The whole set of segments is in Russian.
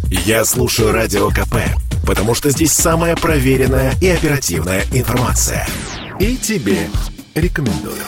Я слушаю Радио КП, потому что здесь самая проверенная и оперативная информация. И тебе рекомендую.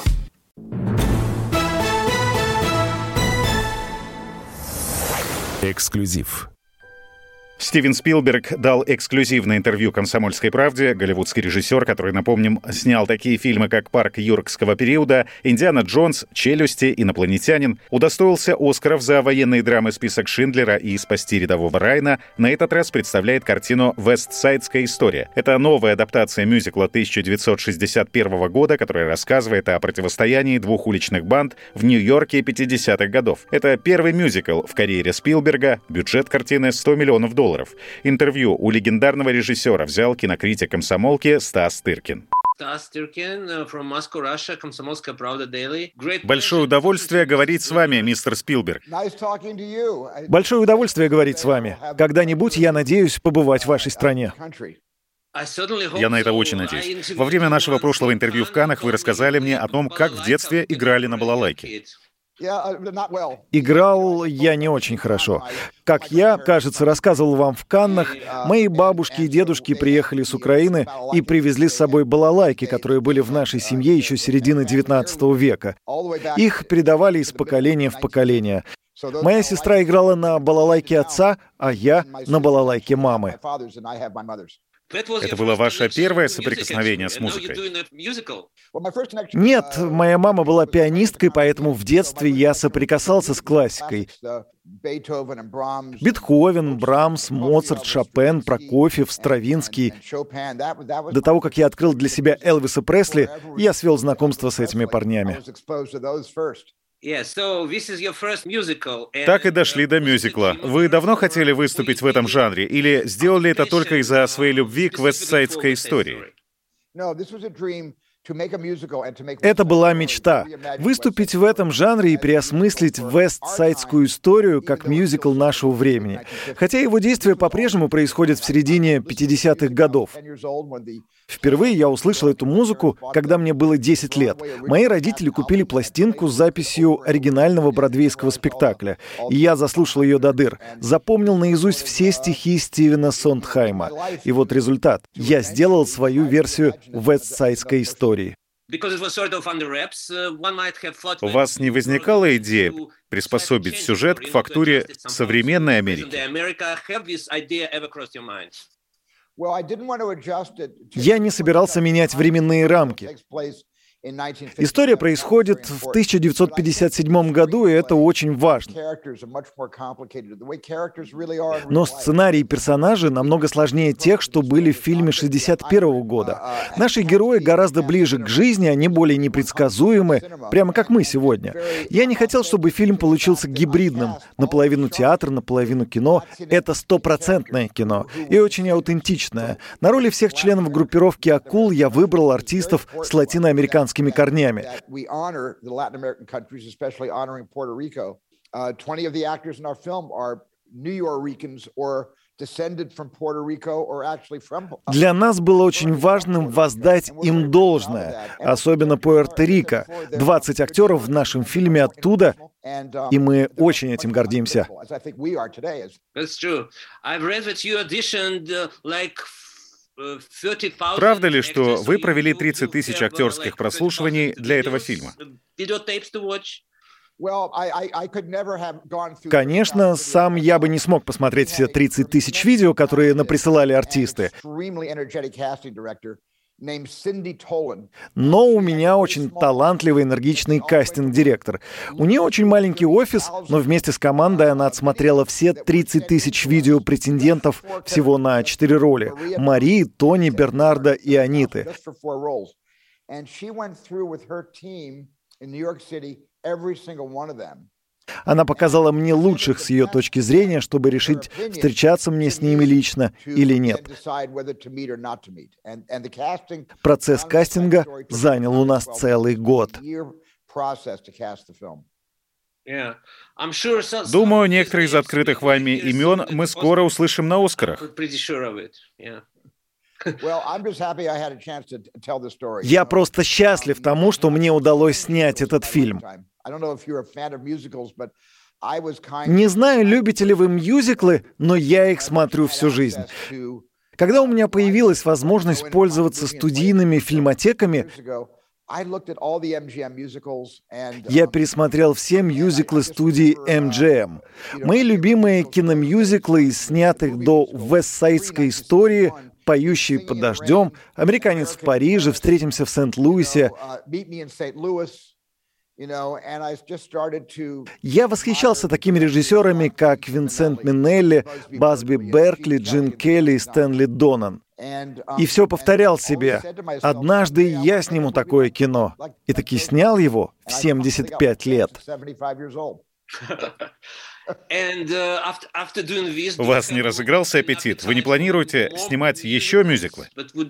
Эксклюзив. Стивен Спилберг дал эксклюзивное интервью «Комсомольской правде». Голливудский режиссер, который, напомним, снял такие фильмы, как «Парк юрского периода», «Индиана Джонс», «Челюсти», «Инопланетянин», удостоился Оскаров за военные драмы «Список Шиндлера» и «Спасти рядового Райана», на этот раз представляет картину «Вестсайдская история». Это новая адаптация мюзикла 1961 года, которая рассказывает о противостоянии двух уличных банд в Нью-Йорке 50-х годов. Это первый мюзикл в карьере Спилберга, бюджет картины $100 миллионов. Интервью у легендарного режиссера взял кинокритик «Комсомолки» Стас Тыркин. Стас Тыркин, from Moscow, Russia, «Комсомольская правда», Daily. Большое удовольствие говорить с вами, мистер Спилберг. Большое удовольствие говорить с вами. Когда-нибудь, я надеюсь, побывать в вашей стране. Я на это очень надеюсь. Во время нашего прошлого интервью в Каннах вы рассказали мне о том, как в детстве играли на балалайке. Играл я не очень хорошо. Как я, кажется, рассказывал вам в Каннах, мои бабушки и дедушки приехали с Украины и привезли с собой балалайки, которые были в нашей семье еще с середины XIX века. Их передавали из поколения в поколение. Моя сестра играла на балалайке отца, а я на балалайке мамы. Это было ваше первое соприкосновение с музыкой? Нет, моя мама была пианисткой, поэтому в детстве я соприкасался с классикой. Бетховен, Брамс, Моцарт, Шопен, Прокофьев, Стравинский. До того, как я открыл для себя Элвиса Пресли, я свел знакомство с этими парнями. Так и дошли до мюзикла. Вы давно хотели выступить в этом жанре или сделали это только из-за своей любви к вестсайдской истории? Это была мечта — выступить в этом жанре и переосмыслить вестсайдскую историю как мюзикл нашего времени. Хотя его действие по-прежнему происходит в середине 50-х годов. Впервые я услышал эту музыку, когда мне было 10 лет. Мои родители купили пластинку с записью оригинального бродвейского спектакля, и я заслушал ее до дыр. Запомнил наизусть все стихи Стивена Сондхайма. И вот результат. Я сделал свою версию вестсайдской истории. У вас не возникала идея приспособить сюжет к фактуре современной Америки? Я не собирался менять временные рамки. История происходит в 1957 году, и это очень важно. Но сценарий и персонажи намного сложнее тех, что были в фильме 1961 года. Наши герои гораздо ближе к жизни, они более непредсказуемы, прямо как мы сегодня. Я не хотел, чтобы фильм получился гибридным, наполовину театр, наполовину кино. Это 100% кино и очень аутентичное. На роли всех членов группировки «Акул» я выбрал артистов с латиноамериканскими корнями. 20 of the actors in our film are Nuyorican or descended from Puerto Rico or actually from... Для нас было очень важным воздать им должное, особенно Пуэрто-Рико. 20 актеров в нашем фильме оттуда, и мы очень этим гордимся. Правда ли, что вы провели 30 тысяч актерских прослушиваний для этого фильма? Конечно, сам я бы не смог посмотреть все 30 тысяч видео, которые наприсылали артисты. Но у меня очень талантливый, энергичный кастинг-директор. У нее очень маленький офис, но вместе с командой она отсмотрела все 30 тысяч видео претендентов всего на 4 роли. Марии, Тони, Бернарда и Аниты. Она показала мне лучших с ее точки зрения, чтобы решить, встречаться мне с ними лично или нет. Процесс кастинга занял у нас целый год. Думаю, некоторые из открытых вами имен мы скоро услышим на «Оскарах». Я просто счастлив тому, что мне удалось снять этот фильм. Не знаю, любите ли вы мюзиклы, но я их смотрю всю жизнь. Когда у меня появилась возможность пользоваться студийными фильмотеками, я пересмотрел все мюзиклы студии MGM. Мои любимые киномюзиклы из снятых до «Вестсайдской истории», «Поющий под дождем», «Американец в Париже», «Встретимся в Сент-Луисе». Я восхищался такими режиссерами, как Винсент Минелли, Басби Беркли, Джин Келли и Стэнли Донан. И все повторял себе: однажды я сниму такое кино. И таки снял его в 75 лет. У вас не разыгрался аппетит? Вы не планируете снимать еще мюзиклы?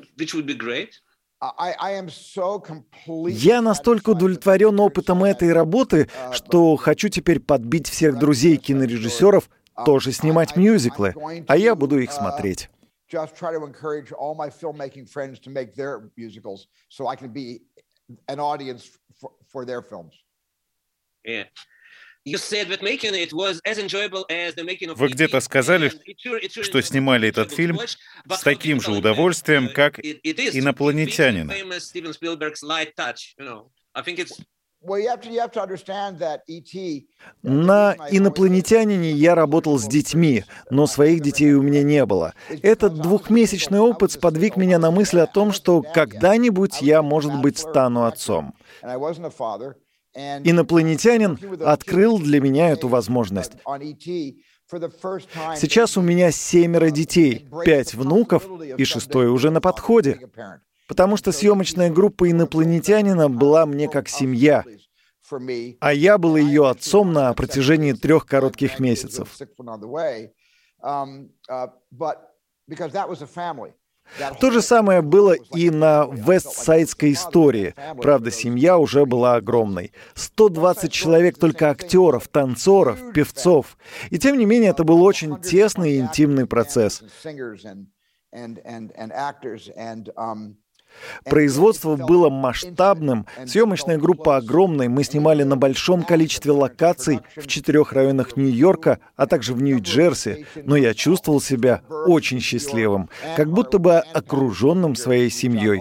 Я настолько удовлетворен опытом этой работы, что хочу теперь подбить всех друзей кинорежиссеров тоже снимать мюзиклы, а я буду их смотреть. Вы где-то сказали, что снимали этот фильм с таким же удовольствием, как «Инопланетянина». На «Инопланетянине» я работал с детьми, но своих детей у меня не было. Этот двухмесячный опыт сподвиг меня на мысль о том, что когда-нибудь я, может быть, стану отцом. «Инопланетянин» открыл для меня эту возможность. Сейчас у меня 7 детей, 5 внуков, и 6-й уже на подходе. Потому что съемочная группа «Инопланетянина» была мне как семья, а я был ее отцом на протяжении 3 коротких месяцев. То же самое было и на «Вестсайдской истории». Правда, семья уже была огромной. 120 человек только актеров, танцоров, певцов. И тем не менее, это был очень тесный и интимный процесс. Производство было масштабным, съемочная группа огромной, мы снимали на большом количестве локаций в 4 районах Нью-Йорка, а также в Нью-Джерси, но я чувствовал себя очень счастливым, как будто бы окруженным своей семьей.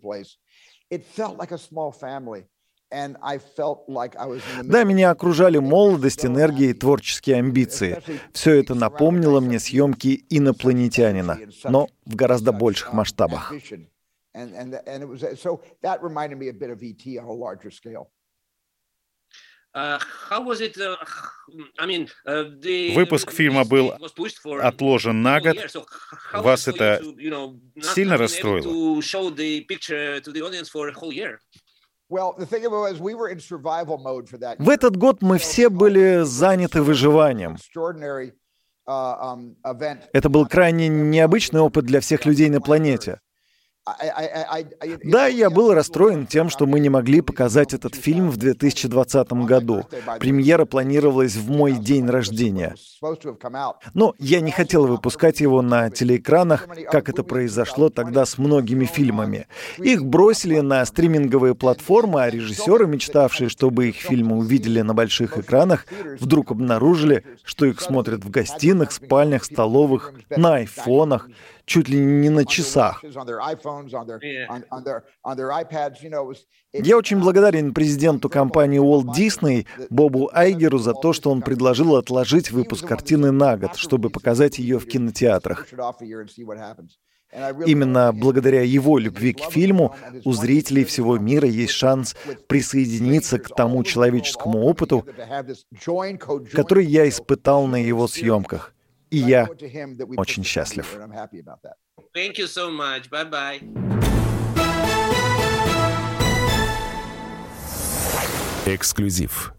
Да, меня окружали молодость, энергия и творческие амбиции. Все это напомнило мне съемки «Инопланетянина», но в гораздо больших масштабах. Выпуск фильма был отложен на год. Вас это сильно расстроило? В этот год мы все были заняты выживанием. Это был крайне необычный опыт для всех людей на планете. Да, я был расстроен тем, что мы не могли показать этот фильм в 2020 году. Премьера планировалась в мой день рождения. Но я не хотел выпускать его на телеэкранах, как это произошло тогда с многими фильмами. Их бросили на стриминговые платформы, а режиссеры, мечтавшие, чтобы их фильмы увидели на больших экранах, вдруг обнаружили, что их смотрят в гостиных, спальнях, столовых, на айфонах, чуть ли не на часах. Я очень благодарен президенту компании Walt Disney Бобу Айгеру за то, что он предложил отложить выпуск картины на год, чтобы показать ее в кинотеатрах. Именно благодаря его любви к фильму у зрителей всего мира есть шанс присоединиться к тому человеческому опыту, который я испытал на его съемках. И я очень счастлив. Эксклюзив.